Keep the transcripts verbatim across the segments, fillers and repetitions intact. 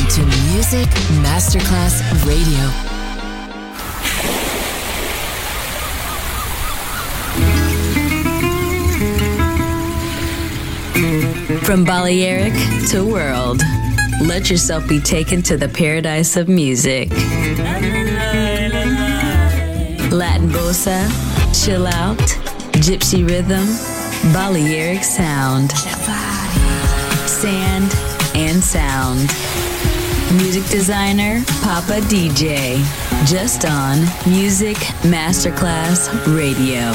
to Music Masterclass Radio. From Balearic to world, let yourself be taken to the paradise of music. Latin bossa, chill out, gypsy rhythm, Balearic sound, sand and sound. Music designer, Papa D J, just on Music Masterclass Radio.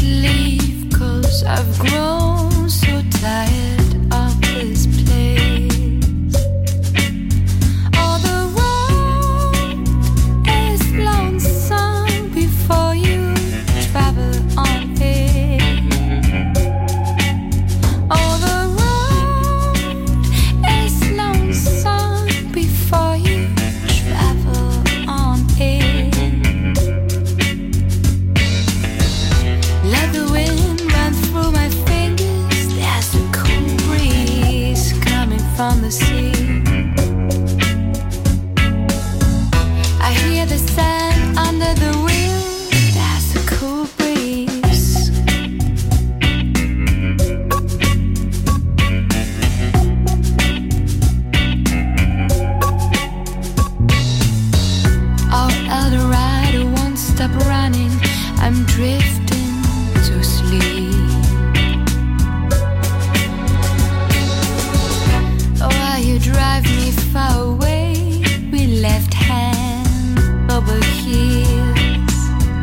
leave, 'cause I've grown so tired of this place. All the road is lonesome before you travel on it. All the road is lonesome before you travel on it. Let the wind run through my fingers. There's a cool breeze coming from the sea. I hear the sand under the wheels. There's a cool breeze. All other rider won't stop running. I'm drifting to sleep. While you drive me far away, we left hand over heels.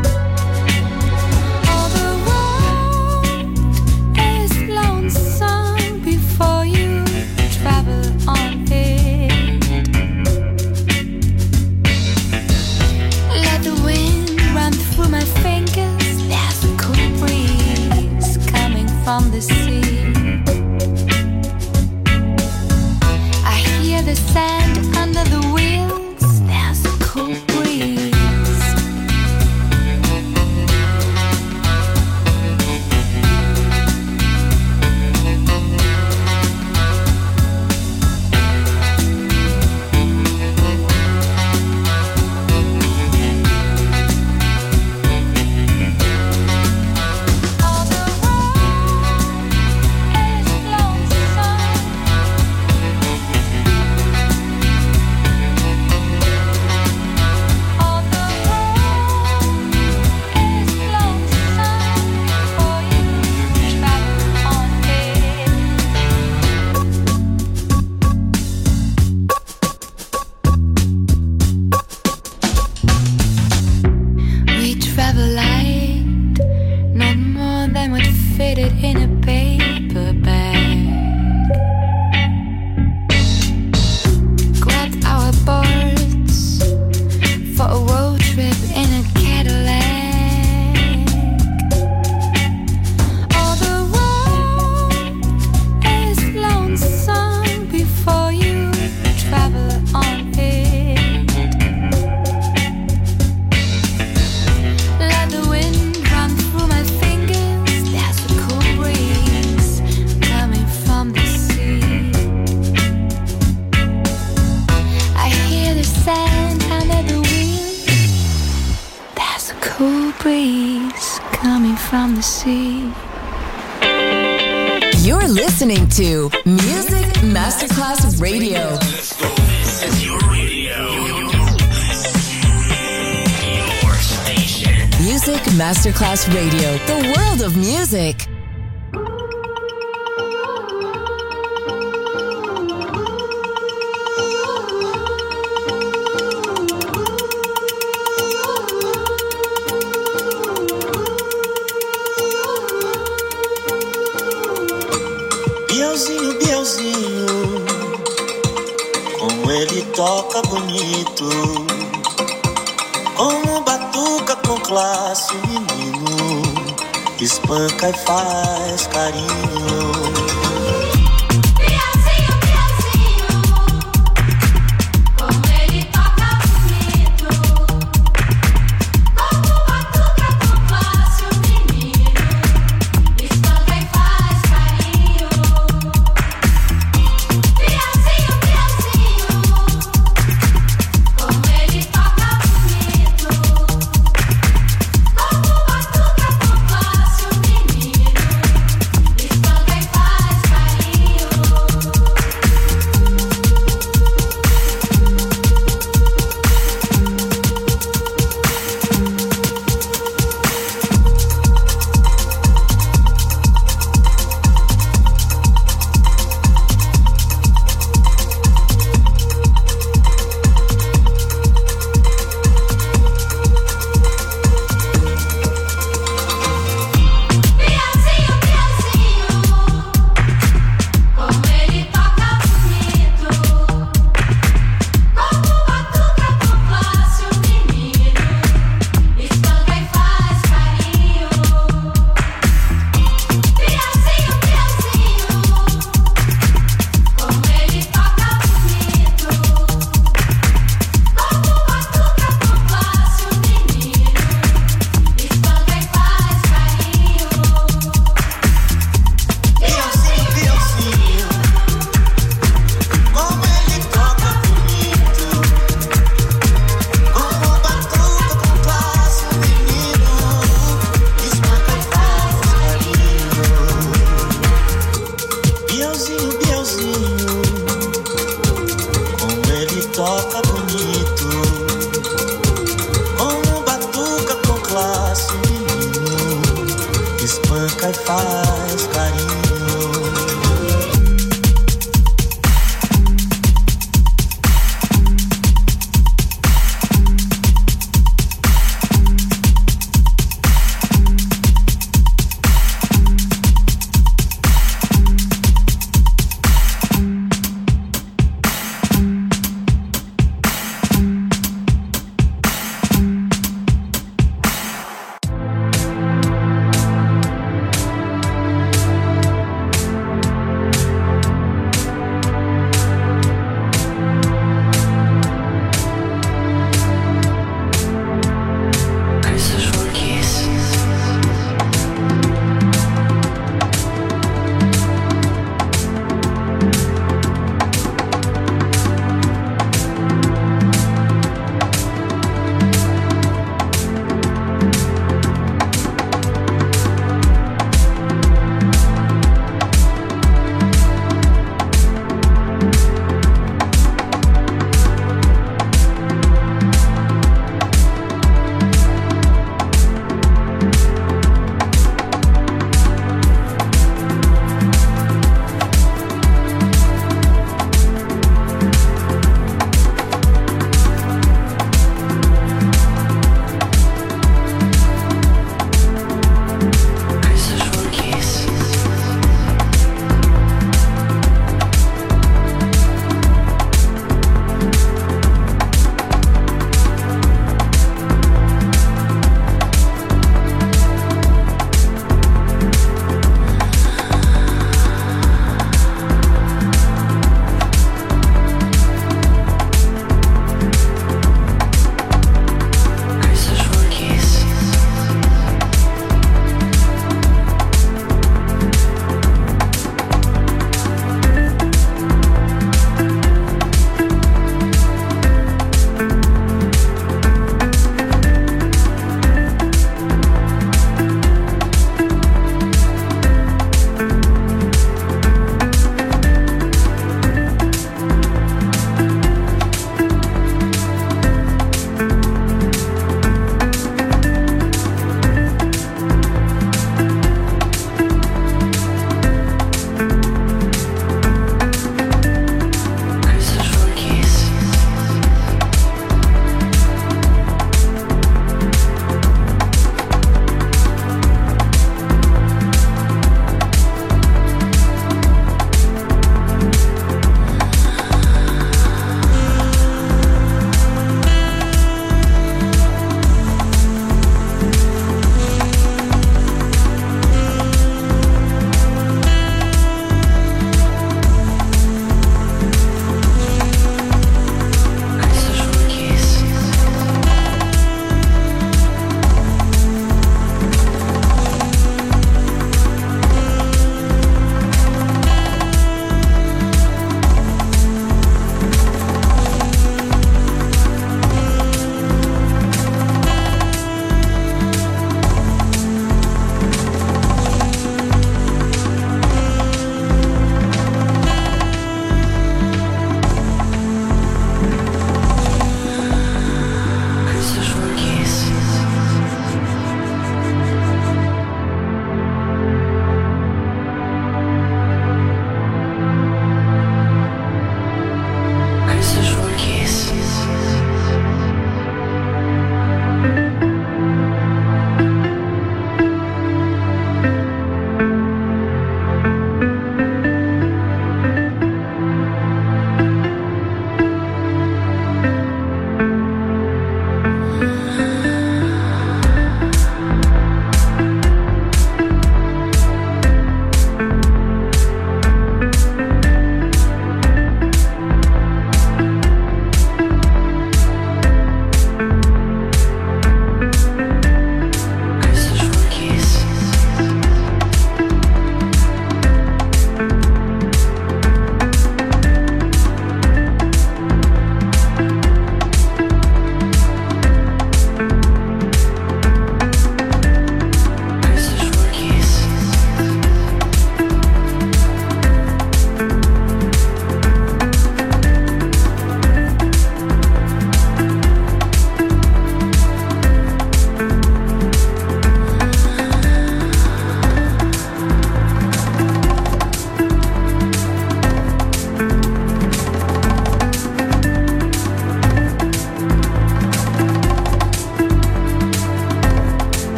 All the road is lonesome before you travel on it. Let the wind run through my fingers. There's a cool breeze coming from the sea. I hear the sand under the wheels. There's a cool breeze. All the road is lonesome. All the road is lonesome before you travel on it. We travel light, not more than would fit it in a paper bag. Grabbed our boards for a road trip in a Cadillac. All the road is lonesome before you travel on it. Let the wind run through my fingers. There's a cool breeze coming from the sea. I hear the sand under the wheels. There's a cool breeze coming from the sea. You're listening to Music Masterclass Radio. This is your radio. Your station. Music Masterclass Radio, the world of music. Bielzinho, Bielzinho, como ele toca bonito, como batuca com classe, o menino espanca e faz carinho. Espanca e faz menino, espanca e faz carinho.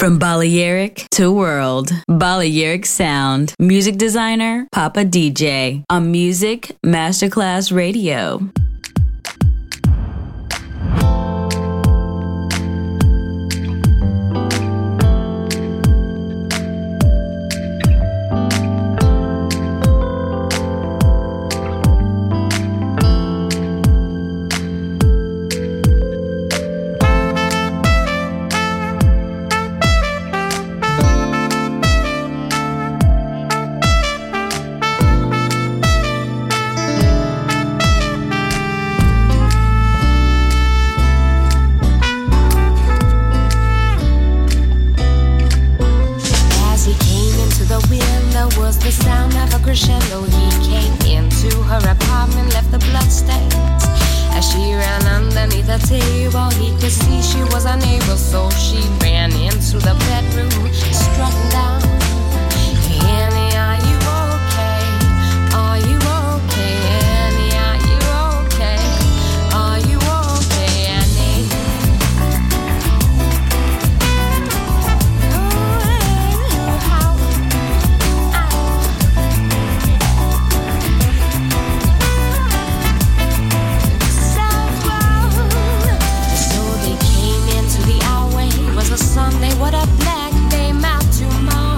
From Balearic to world, Balearic Sound. Music designer, Papa D J. On Music Masterclass Radio. Sunday, what a black day, out tomorrow.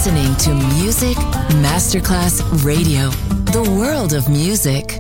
listening to Music Masterclass Radio, the world of music.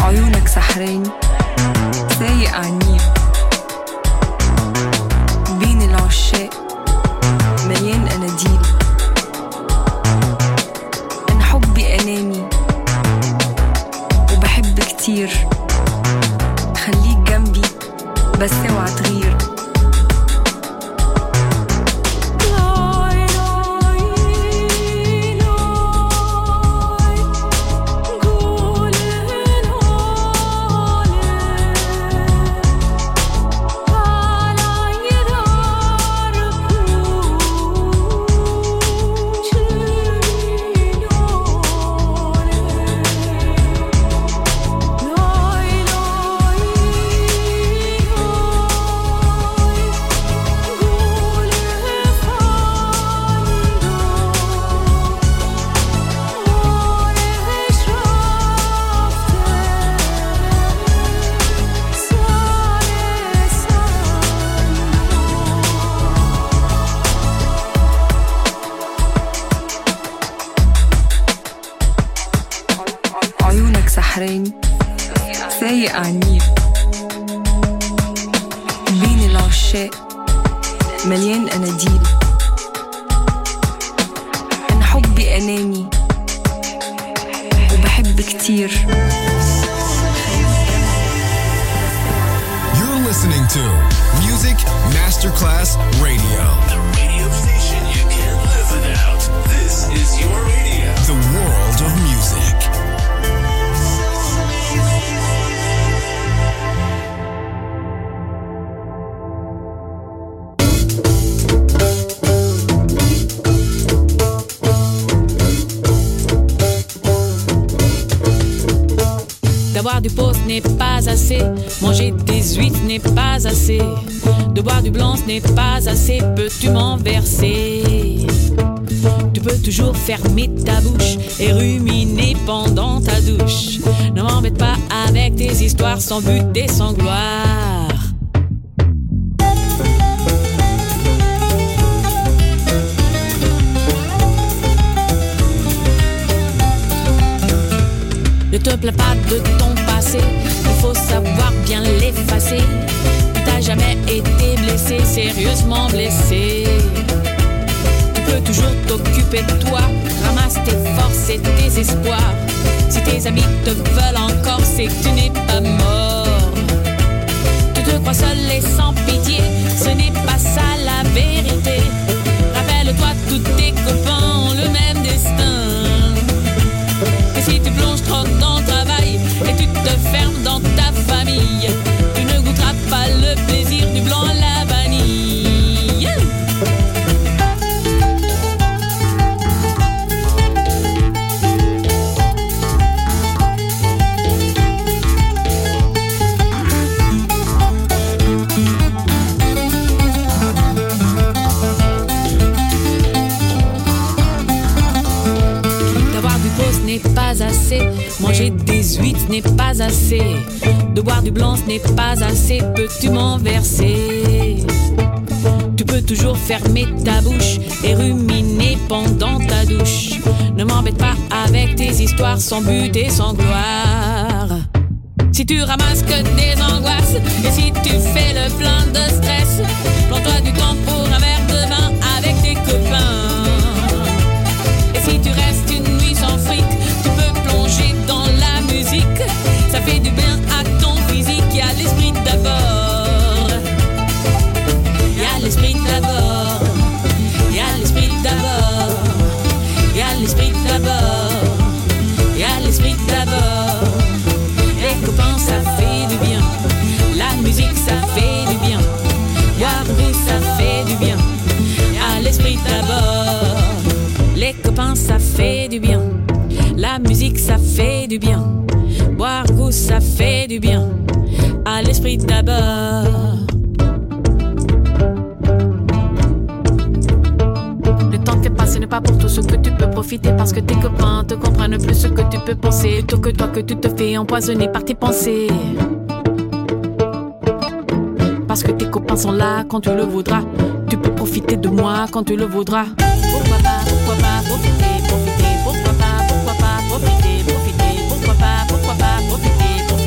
عيونك سحراني سايق عنيد بين العشاق مليان أناديل. أنا حبي أناني وبحب كتير، خليك جنبي بس اوعى تغير. سحراني سايق عنيد بين العشاق مليان أناديل. أنا حبي أناني وبحب كتير. You're listening to Music Masterclass Radio. The radio station you can't live without. This is your radio. The world of music. Boire du pot ce n'est pas assez, manger des huîtres n'est pas assez, de boire du blanc ce n'est pas assez, peux-tu m'en verser? Tu peux toujours fermer ta bouche et ruminer pendant ta douche. Ne m'embête pas avec tes histoires sans but et sans gloire. Ne te plains pas de ton passé, il faut savoir bien l'effacer. Tu t'as jamais été blessé, sérieusement blessé. Tu peux toujours t'occuper de toi, ramasse tes forces et tes espoirs. Si tes amis te veulent encore, c'est que tu n'es pas mort. Tu te crois seul et sans pitié, ce n'est pas ça la vérité. Rappelle-toi, tous tes copains ont le même destin. Et si tu plonges trop dans le travail et tu te fermes dans ta famille, tu ne goûteras pas le plaisir du blanc à la vanille. N'est pas assez, manger des huîtres n'est pas assez, de boire du blanc ce n'est pas assez, peux-tu m'en verser? Tu peux toujours fermer ta bouche et ruminer pendant ta douche. Ne m'embête pas avec tes histoires sans but et sans gloire. Si tu ramasses que des angoisses et si tu fais le plein de stress, prends-toi du temps pour un verre de vin avec tes copains. Et si tu restes une nuit sans fric, tu peux plonger dans la musique. Ça fait du bien à ton physique. Y a l'esprit d'abord. Y a l'esprit d'abord. Y a l'esprit d'abord. Y a l'esprit d'abord. Y a l'esprit d'abord. Les copains ça fait du bien. La musique ça fait du bien. Boire goût ça fait du bien. Y a l'esprit d'abord. Les copains ça fait du bien. La musique ça fait du bien. Boire goût ça fait du bien. À l'esprit d'abord. Le temps fait passer n'est pas pour tout ce que tu peux profiter, parce que tes copains te comprennent plus ce que tu peux penser, plutôt que toi que tu te fais empoisonner par tes pensées. Parce que tes copains sont là quand tu le voudras. Tu peux profiter de moi quand tu le voudras. Pourquoi pas, pourquoi pas profiter, profiter, pourquoi pas, pourquoi pas profiter, profiter, pourquoi pas, pourquoi pas profiter, profiter.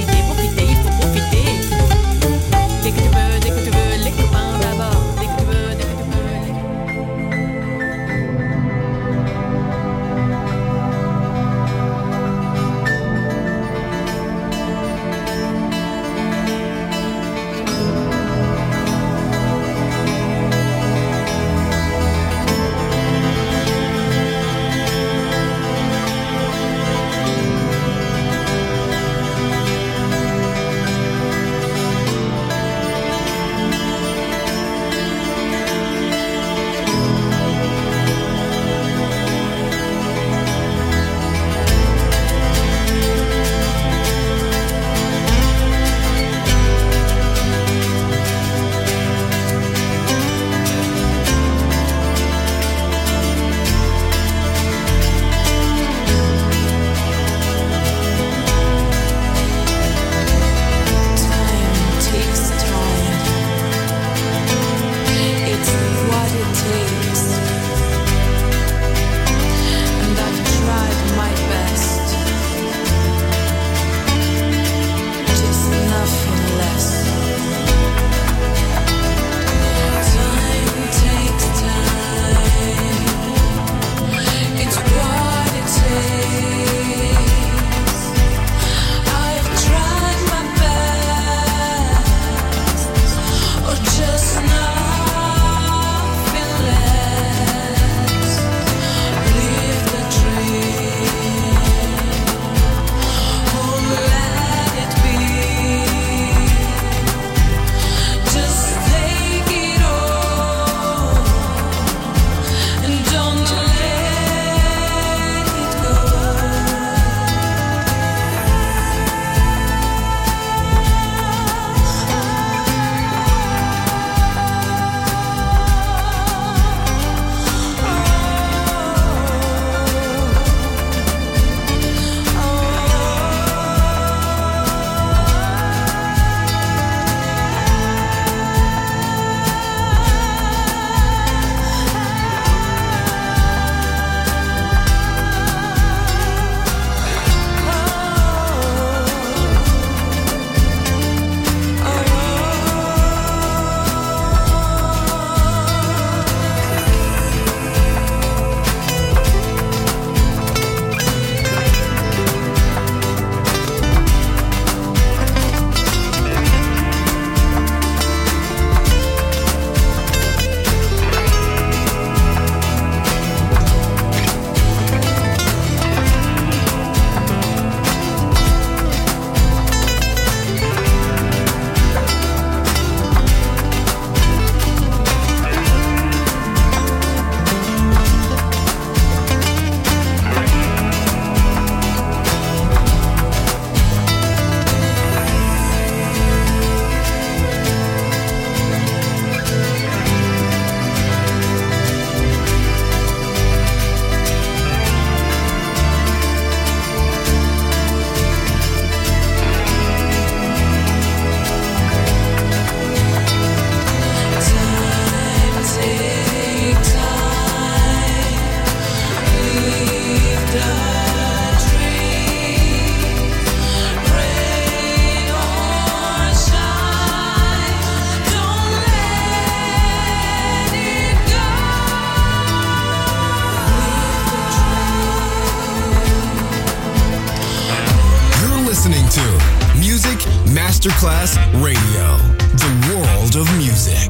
Music Masterclass Radio. The world of music.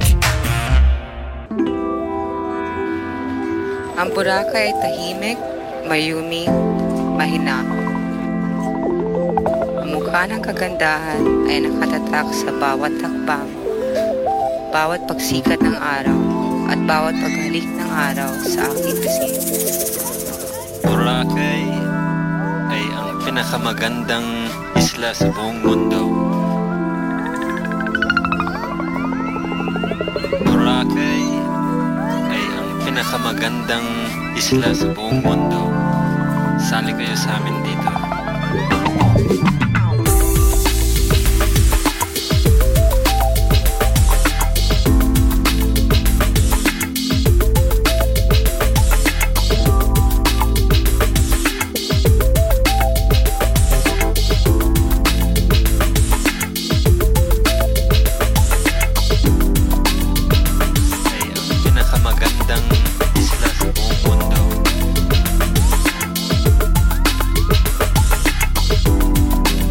Ang Boracay ay tahimik, mayuming, mahinahon. Ang mukha ng kagandahan ay nakatatak sa bawat hakbang, bawat pagsikat ng araw, at bawat paghalik ng araw sa aking pisngi. Boracay ay ang pinakamagandang isla sa buong mundo. Boracay ay ang pinakamagandang isla sa buong mundo. Sali kayo sa amin dito. Isla sa buong mundo.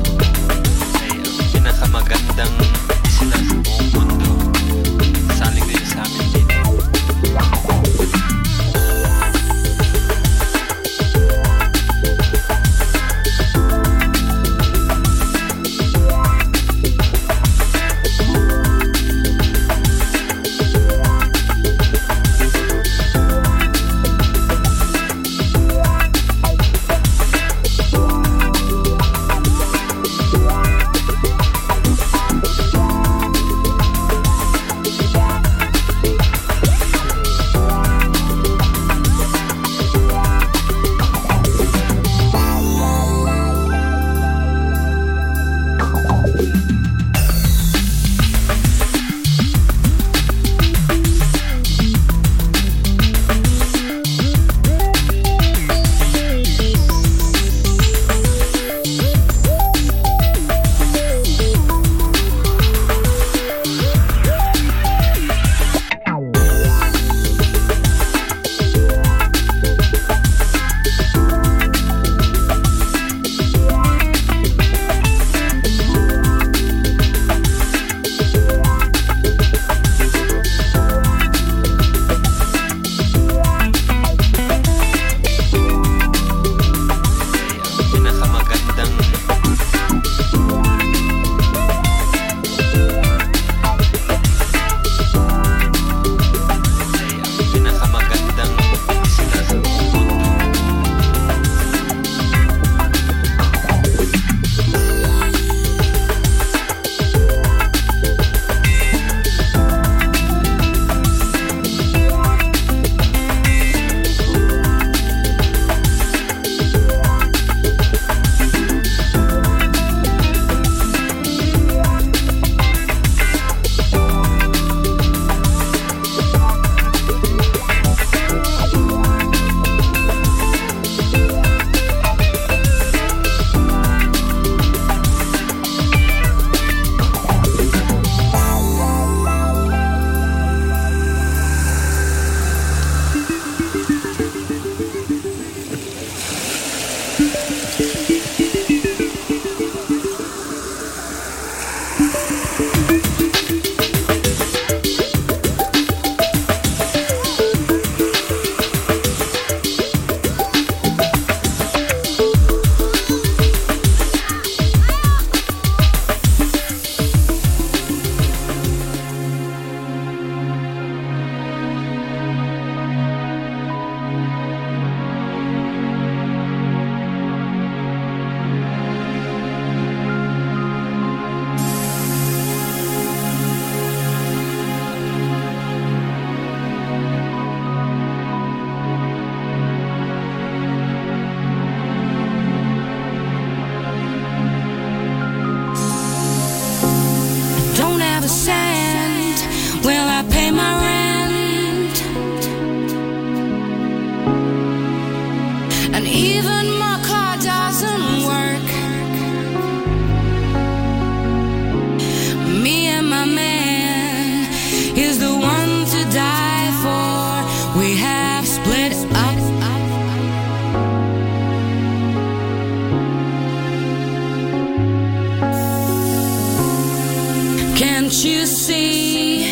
you see?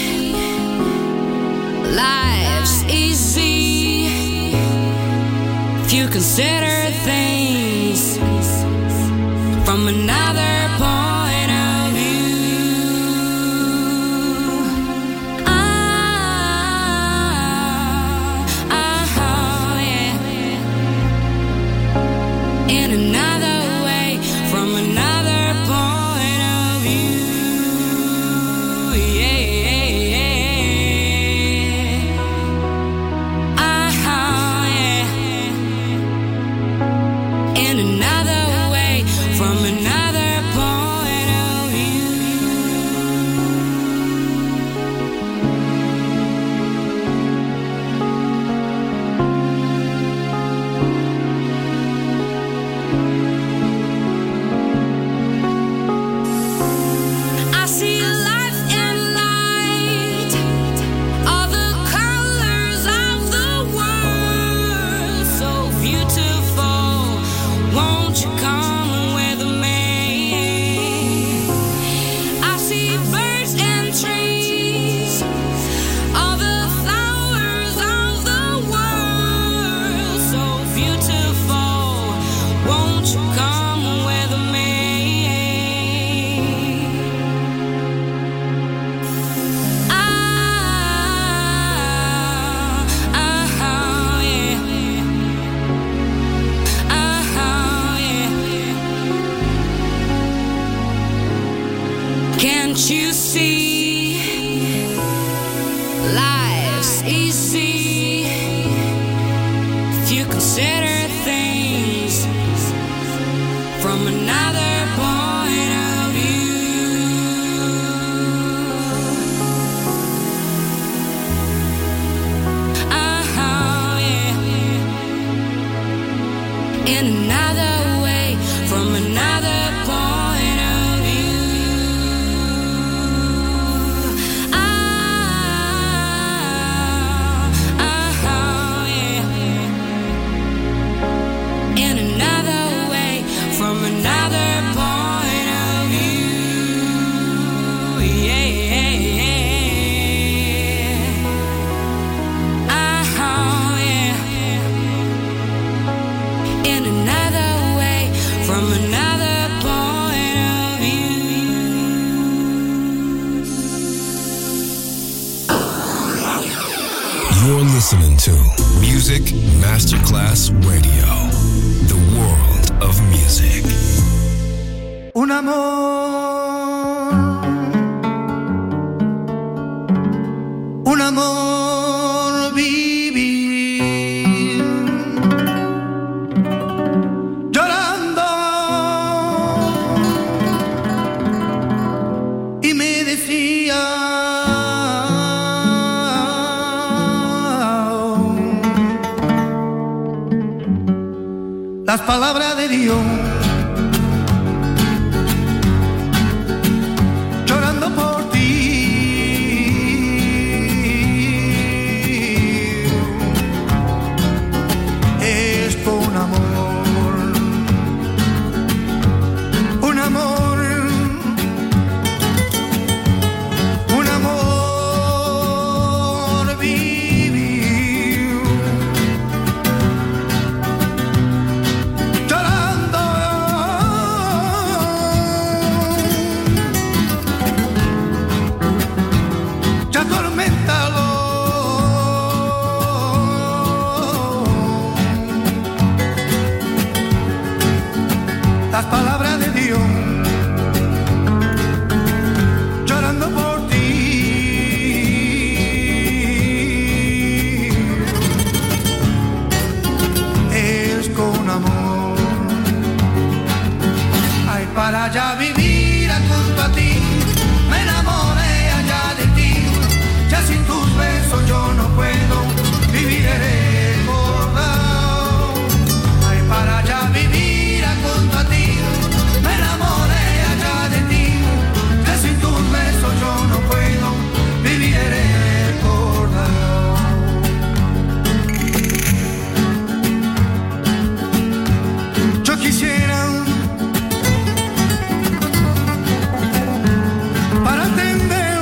Life's easy if you consider things from another point of view. Ah, ah, yeah. In another way, from another point of view. Yeah, yeah, yeah. Ah, yeah. In another way, from another point of view. I see life and light, all the colors of the world, so beautiful. Won't you come with me? I see birds and trees, all the flowers of the world, so beautiful. Won't you come with me? Ah, ah, yeah. Ah, yeah. Can't you see? Life's easy if you consider things from another point of view. Ah, yeah. In another way, from another point of view. Ah, ah, yeah. In another way, from another point of view. Yeah, yeah, yeah. Ah, yeah. In another way, from another point of view. You're listening to Music Masterclass Radio, the world of music. Un amor, un amor vivir, llorando, y me decía, las palabras de Dios. Llorando por ti, es por un amor, un amor, un amor vivir, llorando. Ya atorméntalo, las palabras de Dios, llorando por ti, es con amor. Ay, para ya vivir junto a ti, me enamoré allá de ti. Ya sin tus besos yo no puedo vivir recordado. Ay, para ya vivir junto a ti, me enamoré allá de ti. Ya sin tus besos yo no puedo vivir recordado. Yo quisiera para entender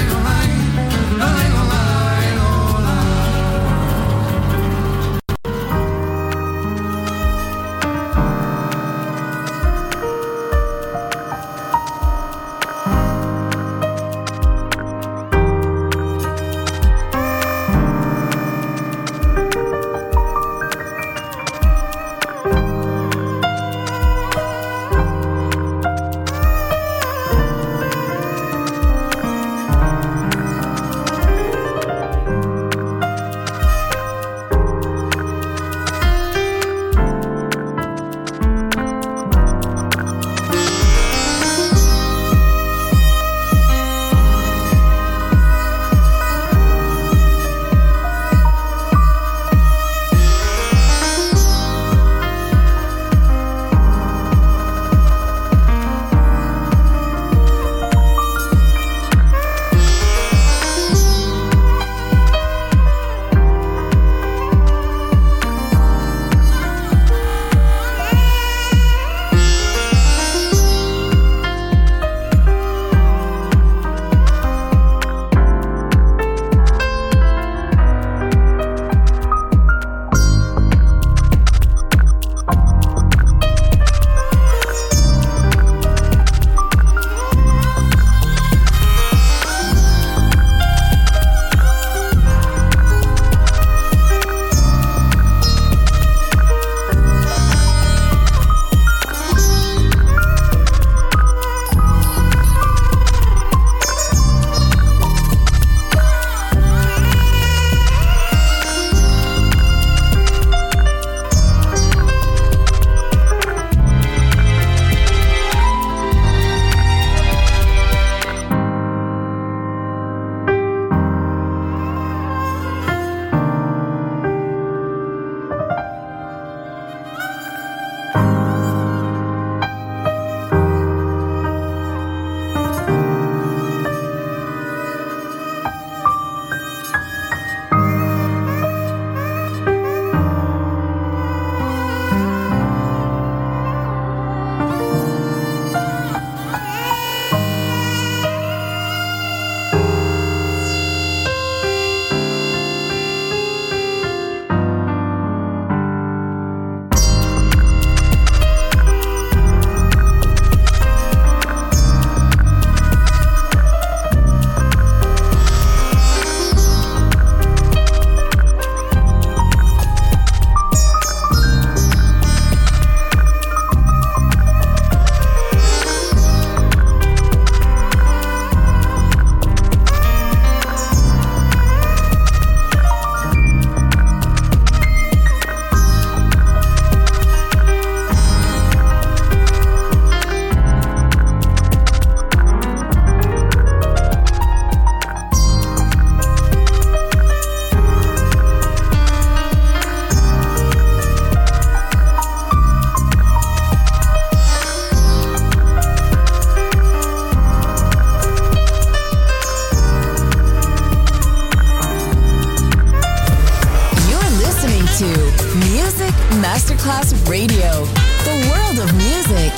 Masterclass Radio, the world of music.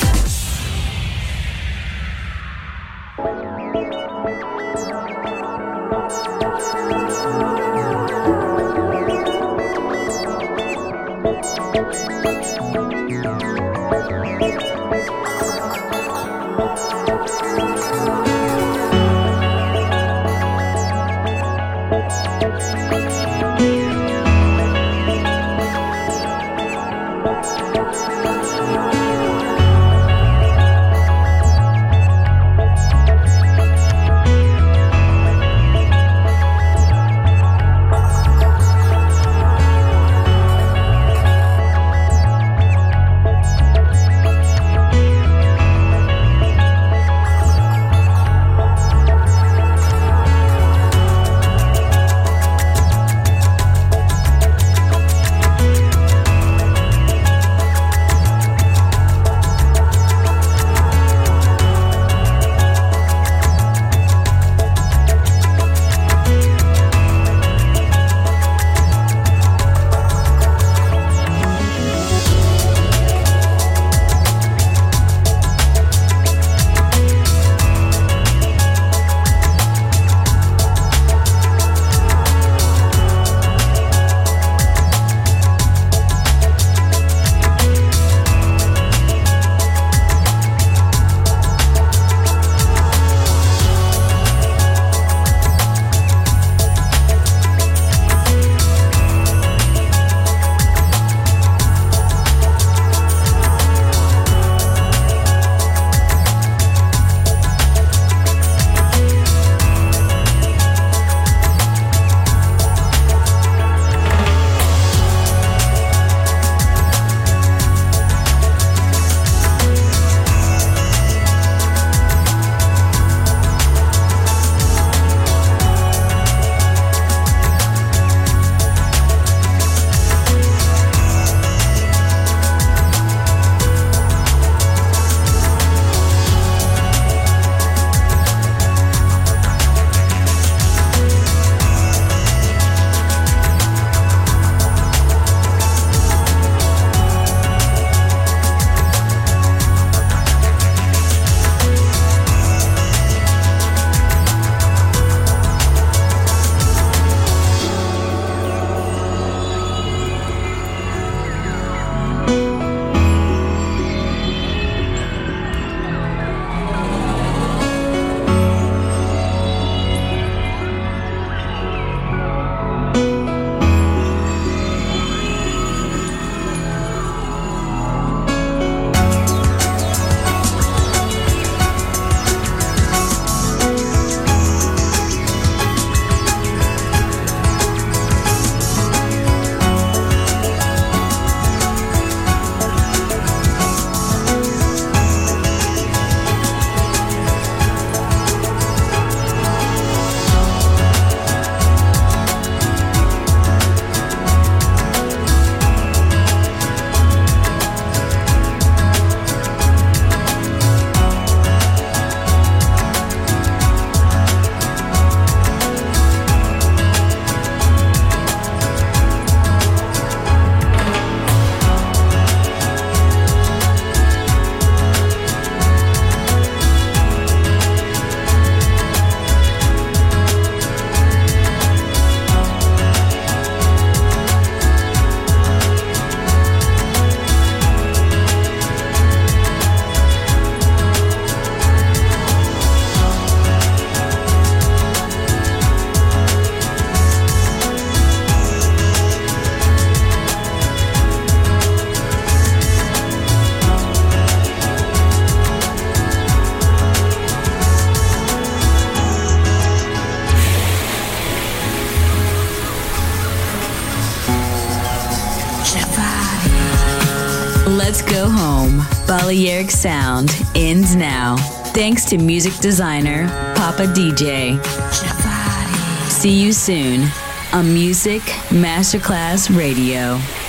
Let's Go Home. Balearic Sound ends now. Thanks to music designer Papa D J. See you soon on Music Masterclass Radio.